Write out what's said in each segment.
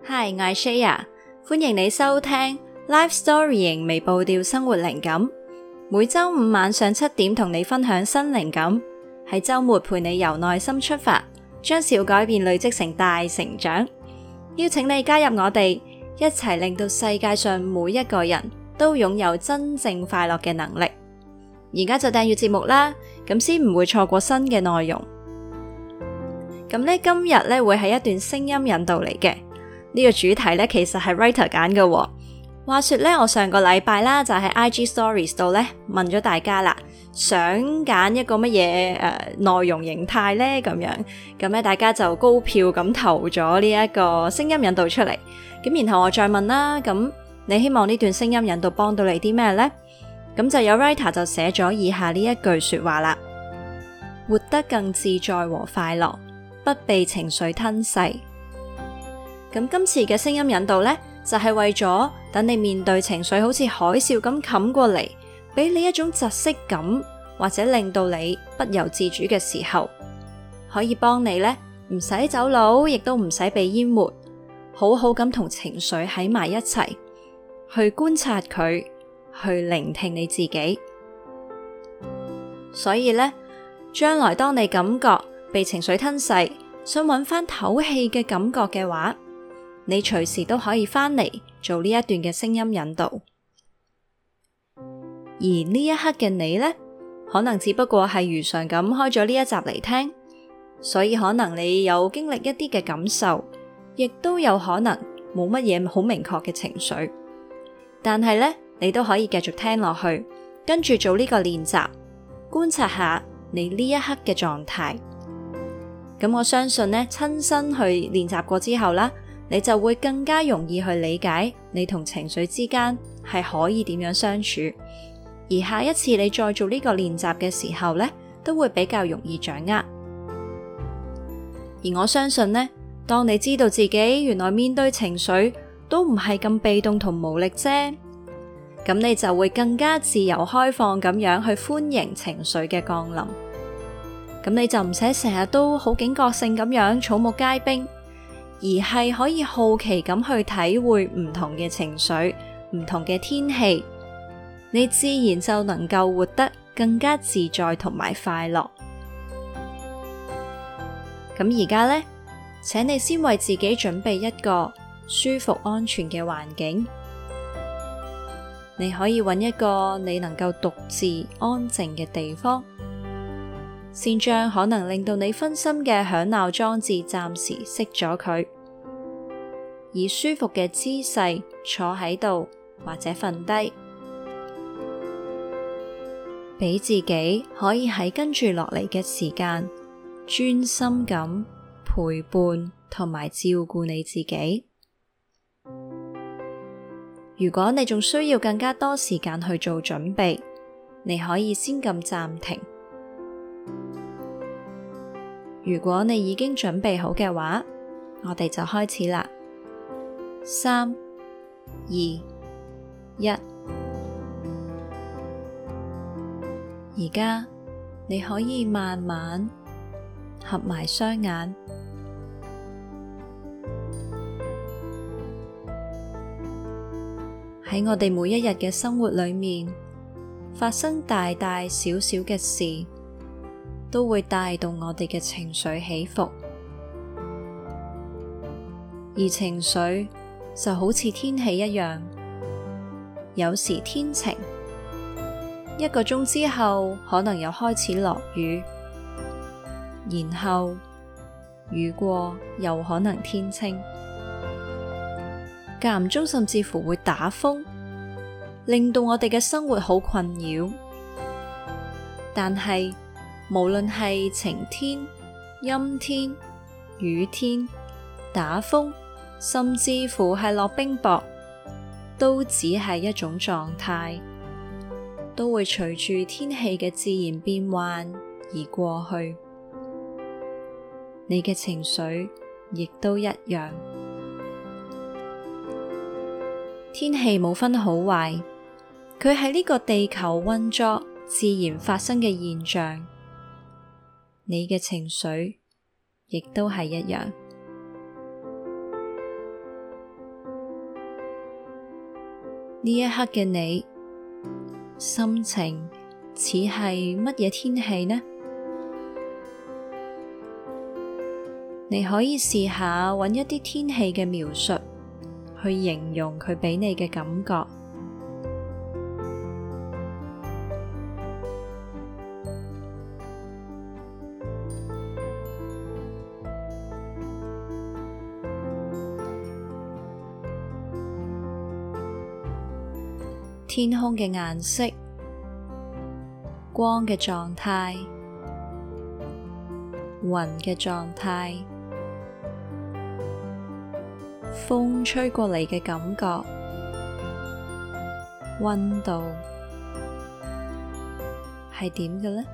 Hi， 我係 Shaya， 歡迎你收聽 Life Storying 微步調生活靈感，每周五晚上7點同你分享新靈感，喺周末陪你由內心出發，將小改變累積成大成長。邀請你加入我哋，一齊令到世界上每一個人都擁有真正快樂嘅能力。而家就訂閱節目啦，咁先唔會錯過新嘅內容。咁呢，今日呢會係一段聲音引導嚟嘅。呢個主題呢其實係 writer 揀嘅喎。話說呢，我上個禮拜啦就喺 IG Stories 度呢問咗大家啦，想揀一個乜嘢內容形態呢？咁樣，咁呢大家就高票咁投咗呢一個聲音引導出嚟。咁然後我再問啦，咁你希望呢段聲音引導幫到你啲咩呢？咁就有 writer 就寫咗以下呢一句說話啦：活得更自在和快樂，不被情緒吞噬。咁今次嘅聲音引導呢，就係為咗等你面對情緒好似海嘯咁冚過嚟，俾你一種窒息感，或者令到你不由自主嘅時候，可以幫你呢，唔使走佬，亦都唔使被淹沒，好好咁同情緒喺埋一齊，去觀察佢，去聆聽你自己。所以呢，將來當你感覺被情緒吞噬，想揾翻唞氣嘅感覺嘅話，你隨時都可以翻嚟做呢一段嘅聲音引導。而呢一刻嘅你呢，可能只不過係如常咁開咗呢一集嚟聽，所以可能你有經歷一啲嘅感受，亦都有可能冇乜嘢好明確嘅情緒，但係呢，你都可以繼續聽落去，跟住做呢個練習，觀察下你呢一刻嘅狀態。咁我相信呢，親身去練習過之後啦，你就會更加容易去理解你同情緒之間係可以點樣相處，而下一次你再做呢個練習嘅時候呢，都會比較容易掌握。而我相信呢，當你知道自己原來面對情緒都唔係咁被動同無力啫，咁你就會更加自由開放咁樣去歡迎情緒嘅降臨。咁你就唔使成日都好警覺性咁樣草木皆兵，而係可以好奇咁去體會唔同嘅情緒、唔同嘅天氣，你自然就能夠活得更加自在同埋快樂。咁而家呢，請你先為自己準備一個舒服安全嘅環境，你可以揾一個你能夠獨自安靜嘅地方，先將可能令到你分心嘅響鬧裝置暫時熄咗佢，以舒服嘅姿勢坐喺度或者瞓低，俾自己可以喺跟住落嚟嘅時間專心咁陪伴同埋照顧你自己。如果你仲需要更加多時間去做準備，你可以先撳暫停。如果你已經準備好嘅話，我哋就開始啦。3、2、1。而家你可以慢慢合埋雙眼，喺我哋每一日嘅生活裏面，發生大大小小嘅事，都會帶動我哋嘅情緒起伏，而情緒就好似天氣一樣，有時天晴，1個鐘之後可能又開始落雨，然後雨過又可能天晴，間唔中甚至乎會打風，令到我哋嘅生活好困擾。但係無論係晴天、陰天、雨天、打風，甚至乎係落冰雹，都只係一種狀態，都會隨住天氣嘅自然變幻而過去。你嘅情緒亦都一樣。天氣冇分好壞，佢係呢個地球運作自然發生嘅現象。你嘅情緒亦都係一樣。 呢一刻嘅你，心情似係乜嘢天氣呢？你可以試下揾一啲天氣嘅描述，去形容佢畀你嘅感覺。天空嘅顏色、光嘅狀態、雲嘅狀態、風吹過嚟嘅感覺、溫度係點嘅呢？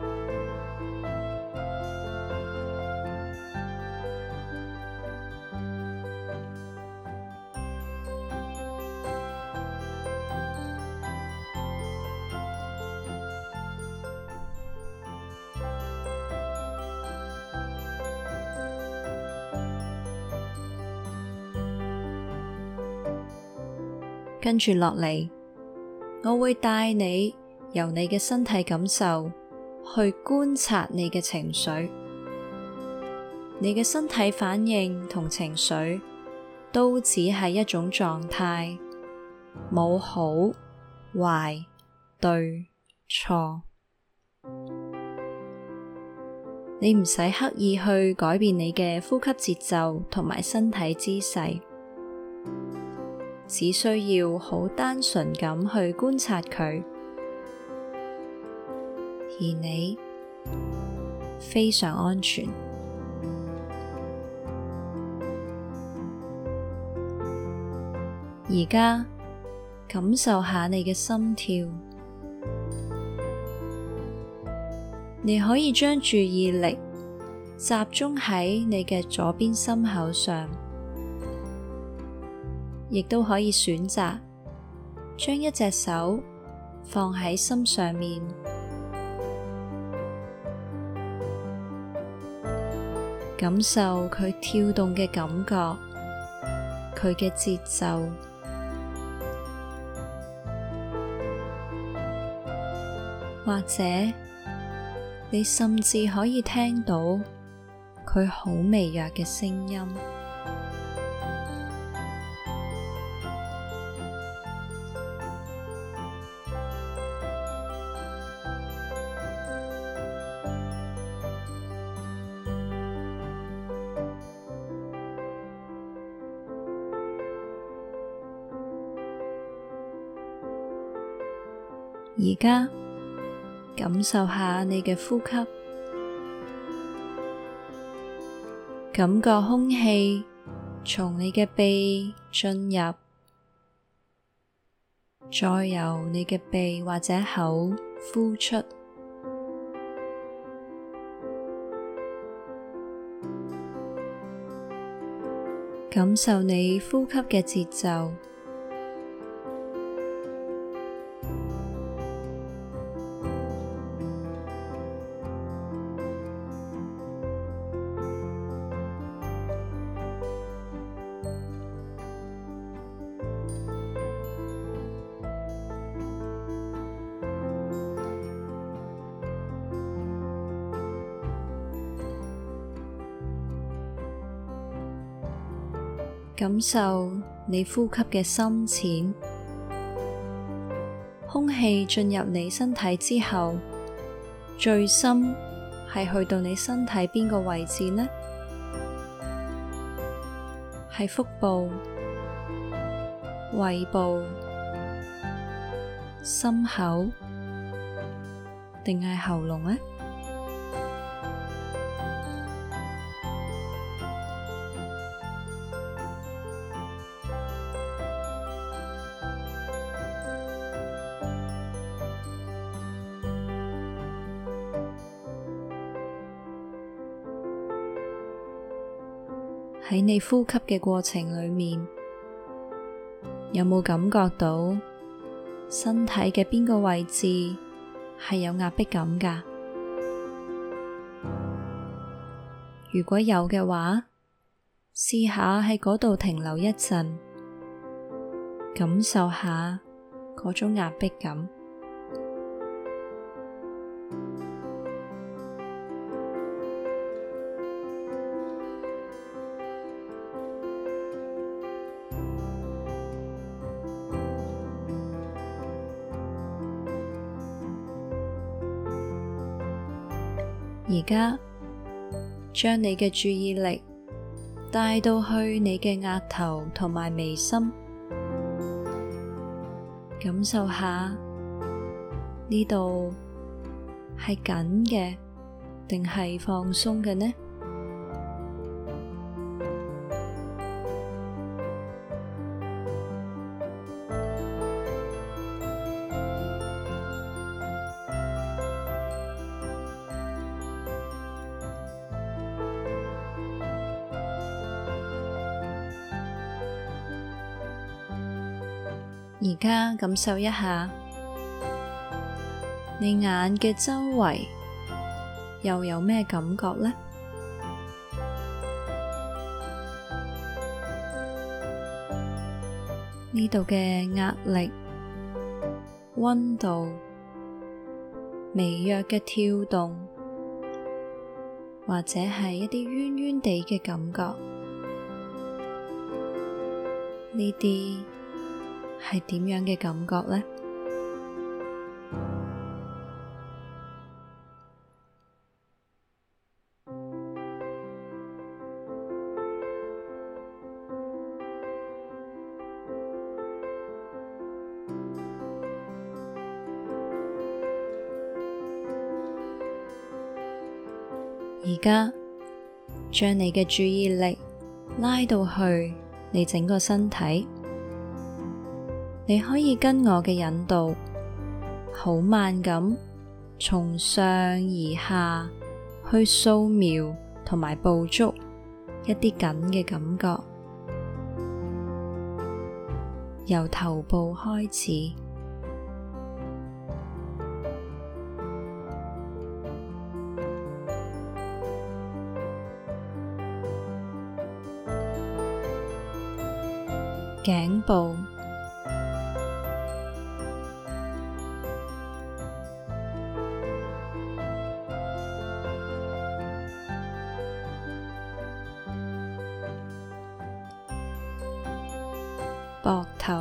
跟住落嚟，我會帶你由你嘅身體感受去觀察你嘅情緒，你嘅身體反應同情緒都只係一種狀態，冇好、壞、對、錯。你唔使刻意去改變你嘅呼吸節奏同埋身體姿勢。只需要好單純咁去觀察佢，而你非常安全。而家感受下你嘅心跳，你可以將注意力集中喺你嘅左邊心口上。亦都可以選擇將一隻手放喺心上面，感受佢跳動嘅感覺，佢嘅節奏，或者你甚至可以聽到佢好微弱嘅聲音。而家感受下你嘅呼吸，感覺空氣從你嘅鼻進入，再由你嘅鼻或者口呼出，感受你呼吸嘅節奏。感受你呼吸嘅深淺，空氣進入你身體之後，最深係去到你身體邊個位置呢？係腹部、胃部、心口，定係喉嚨呢？喺你呼吸嘅過程裏面，有冇感覺到身體嘅邊個位置係有壓迫感㗎？如果有嘅話，試下喺嗰度停留一陣，感受下嗰種壓迫感。而家將你嘅注意力帶到去你嘅額頭同埋眉心，感受下呢度係緊嘅定係放鬆嘅呢？而家感受一下，你眼嘅周圍又有咩感覺呢？呢度嘅壓力、溫度、微弱嘅跳動，或者係一啲冤冤地嘅感覺，呢啲係點樣嘅感覺呢？而家將你嘅注意力拉到去你整個身體，你可以跟我嘅引導，好慢咁從上而下去掃描同埋捕捉一啲緊嘅感覺，由頭部開始，頸部、膊頭、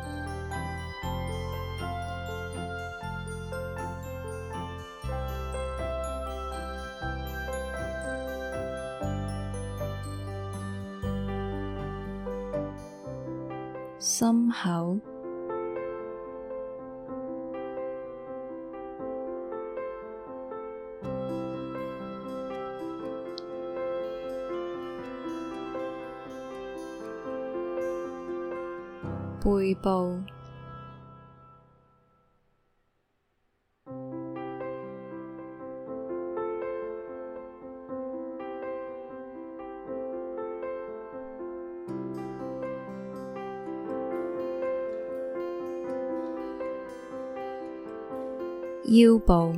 心口、背部、腰部、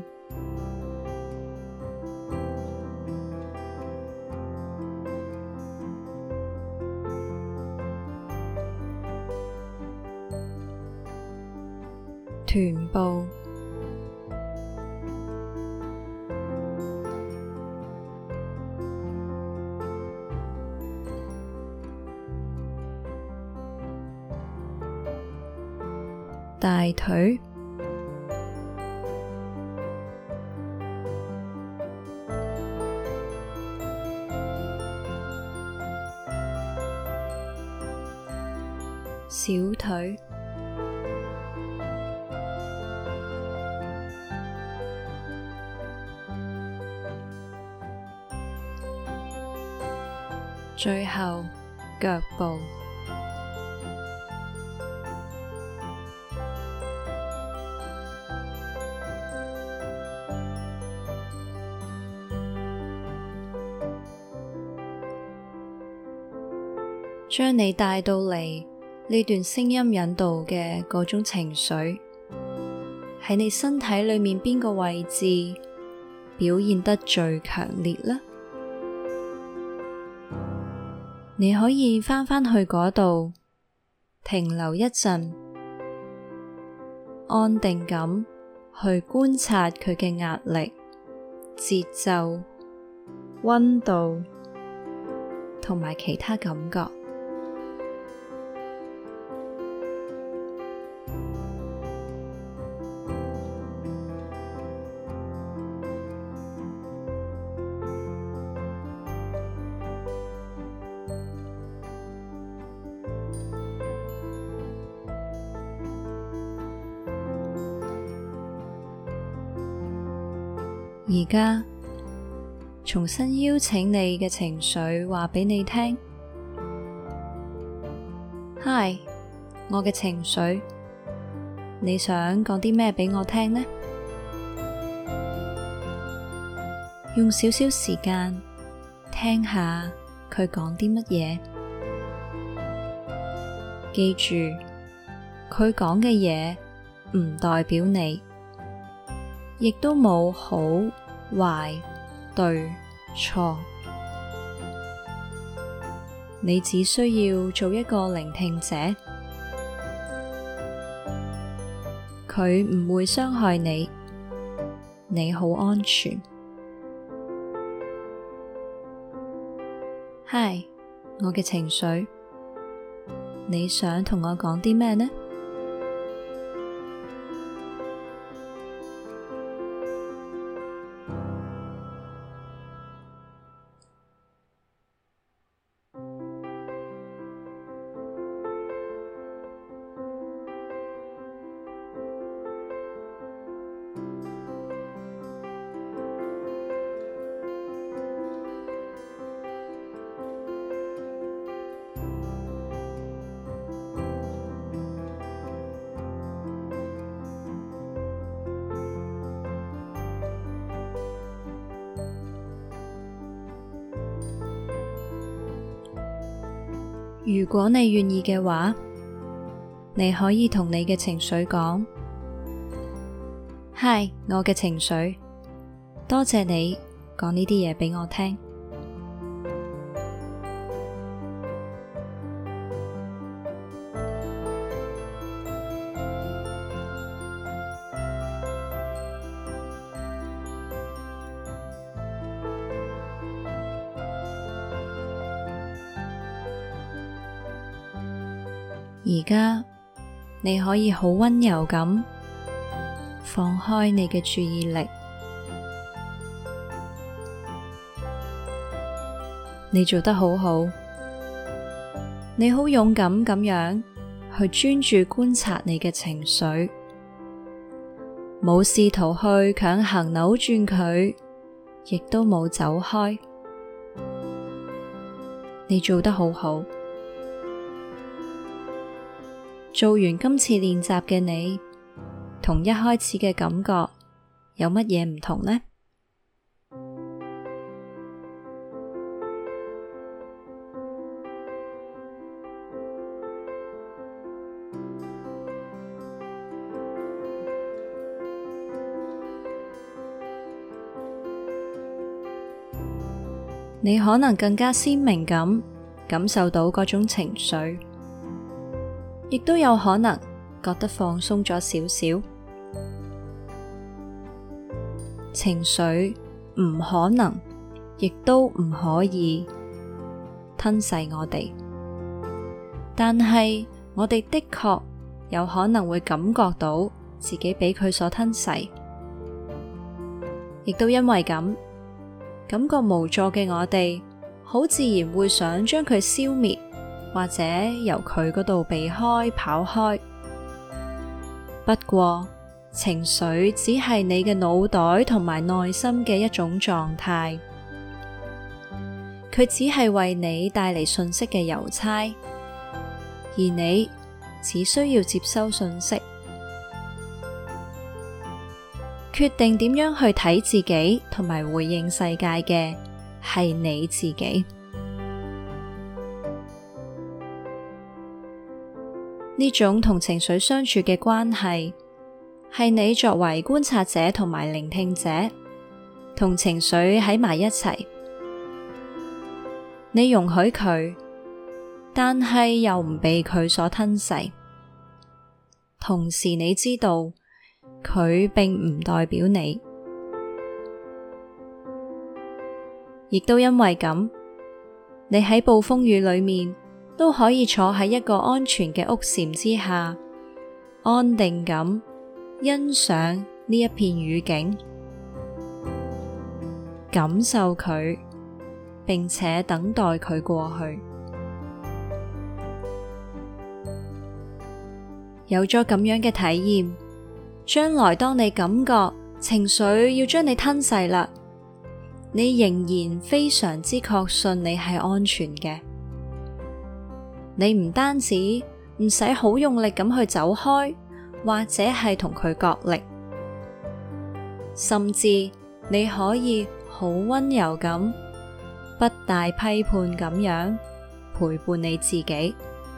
臀部、大腿、小腿、最後腳部。將你帶到嚟呢段聲音引導嘅嗰種情緒，喺你身體裏面邊個位置表現得最強烈呢？你可以返返去嗰度停留一陣， 安定咁去觀察佢嘅壓力、節奏、溫度同埋其他感覺。而家重新邀請你嘅情緒話俾你聽。嗨，我嘅情緒，你想講啲咩俾我聽呢？用少少時間聽下佢講啲乜嘢。記住，佢講嘅嘢唔代表你，亦都冇好壞對錯，你只需要做一個聆聽者，佢唔會傷害你，你好安全。嗨，我嘅情緒，你想同我講啲咩呢？如果你願意嘅話，你可以同你嘅情緒講：嗨，我嘅情緒，多謝你講呢啲嘢俾我聽。而家你可以好溫柔咁放開你嘅注意力，你做得好好，你好勇敢咁樣去專注觀察你嘅情緒，冇試圖去強行扭轉佢，亦都冇走開，你做得好好。做完今次練習嘅你，同一開始嘅感覺有乜嘢唔同呢？你可能更加鮮明咁感受到嗰種情緒，亦都有可能覺得放鬆咗少少。情緒唔可能，亦都唔可以吞噬我哋，但係我哋的確有可能會感覺到自己俾佢所吞噬，亦都因為咁，感覺無助嘅我哋，好自然會想將佢消滅，或者由佢嗰度避開、跑開。不過，情緒只係你嘅腦袋同埋內心嘅一種狀態，佢只係為你帶嚟訊息嘅郵差，而你只需要接收訊息。決定點樣去睇自己同埋回應世界嘅係你自己。呢種同情緒相處嘅關係，係你作為觀察者同埋聆聽者，同情緒喺埋一齊。你容許佢，但係又唔被佢所吞噬。同時你知道佢並唔代表你。亦都因為咁，你喺暴風雨裏面都可以坐喺一個安全嘅屋檐之下，安定咁欣賞呢一片雨景，感受佢，並且等待佢過去。有咗咁樣嘅體驗，將來當你感覺情緒要將你吞噬啦，你仍然非常之確信你係安全嘅。你唔單止唔使好用力咁去走開，或者係同佢角力，甚至你可以好溫柔咁，不帶批判咁樣陪伴你自己。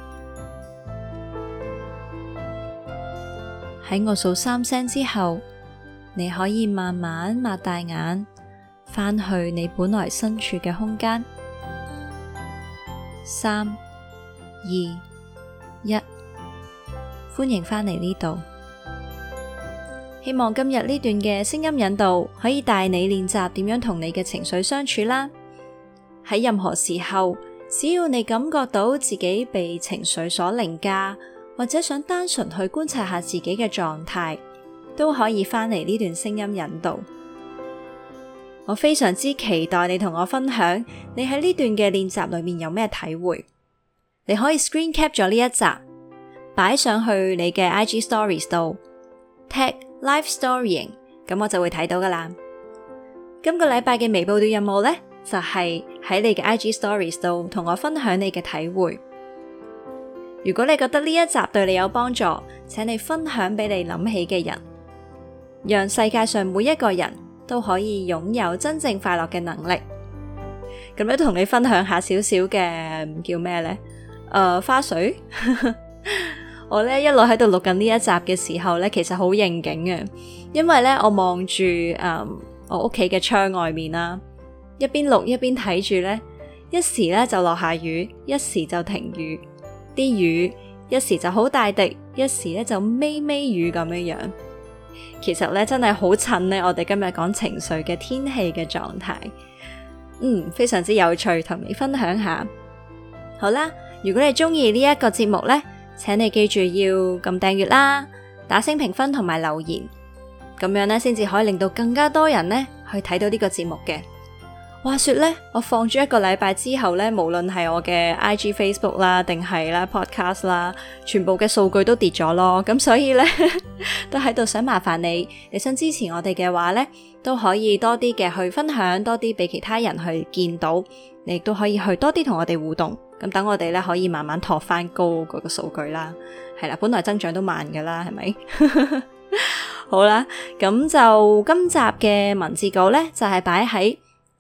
喺我數3聲之後，你可以慢慢擘大眼，返去你本來身處嘅空間。3、2、1，歡迎返嚟呢度。希望今日呢段嘅聲音引導可以帶你練習點樣同你嘅情緒相處啦。喺任何時候，只要你感覺到自己被情緒所凌駕，或者想單純去觀察下自己嘅狀態，都可以返嚟呢段聲音引導。我非常之期待你同我分享你喺呢段嘅練習裏面有咩體會。你可以 screen cap 咗呢一集，擺上去你嘅 IG Stories 度 tag Life Storying， 咁我就會睇到噶啦。今個禮拜嘅微報短任務呢，就係喺你嘅 IG Stories 度同我分享你嘅體會。如果你覺得呢一集對你有幫助，請你分享俾你諗起嘅人，讓世界上每一個人都可以擁有真正快樂嘅能力。咁咧，同你分享下少少嘅叫咩呢？花絮。我呢一路喺度錄緊呢一集嘅時候呢，其實好應景嘅，因為呢，我望住我屋企嘅窗外面啦，一邊錄一邊睇住呢，一時呢就落下雨，一時就停雨。啲雨一時就好大滴，一時咧就微微雨咁樣樣。其實咧真係好襯咧，我哋今日講情緒嘅天氣嘅狀態，非常之有趣，同你分享下。好啦，如果你中意呢一個節目咧，請你記住要撳訂閱啦，打星評分同埋留言，咁樣咧先至可以令到更加多人咧去睇到呢個節目嘅。話說咧，我放咗1個禮拜之後咧，無論係我嘅 IG、Facebook 啦，定係啦 Podcast 啦，全部嘅數據都跌咗咯。咁所以咧，都喺度想麻煩你想支持我哋嘅話咧，都可以多啲嘅去分享，多啲俾其他人去見到，你亦都可以去多啲同我哋互動。咁等我哋咧可以慢慢托翻高嗰個數據啦。係啦，本來增長都慢噶啦，係咪？好啦，咁就今集嘅文字稿咧，就係擺喺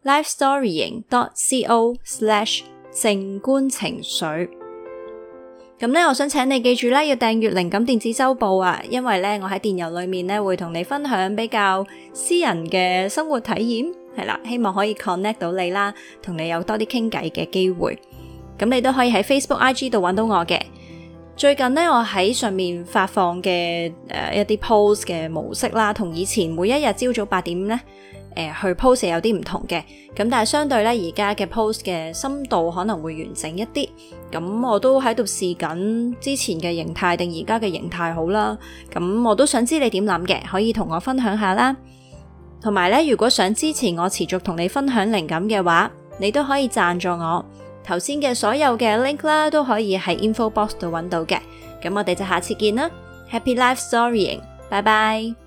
lifestorying.co/ 靜觀情緒。咁咧，我想請你記住啦，要訂閱靈感電子週報啊，因為咧我喺電郵裏面咧會同你分享比較私人嘅生活體驗，係啦，希望可以 connect 到你啦，同你有多啲傾偈嘅機會。咁你都可以喺 Facebook、IG 度揾到我嘅。最近咧，我喺上面發放嘅一啲 post 嘅模式啦，同以前每一日朝早8點咧去 post 有啲唔同嘅，咁但係相對咧而家嘅 post 嘅深度可能會完整一啲，咁我都喺度試緊之前嘅形態定而家嘅形態好啦，咁我都想知你點諗嘅，可以同我分享下啦。同埋咧，如果想支持我持續同你分享靈感嘅話，你都可以贊助我，頭先嘅所有嘅 link 啦都可以喺 info box 度揾到嘅，咁我哋就下次見啦，Happy Life Storying，拜拜。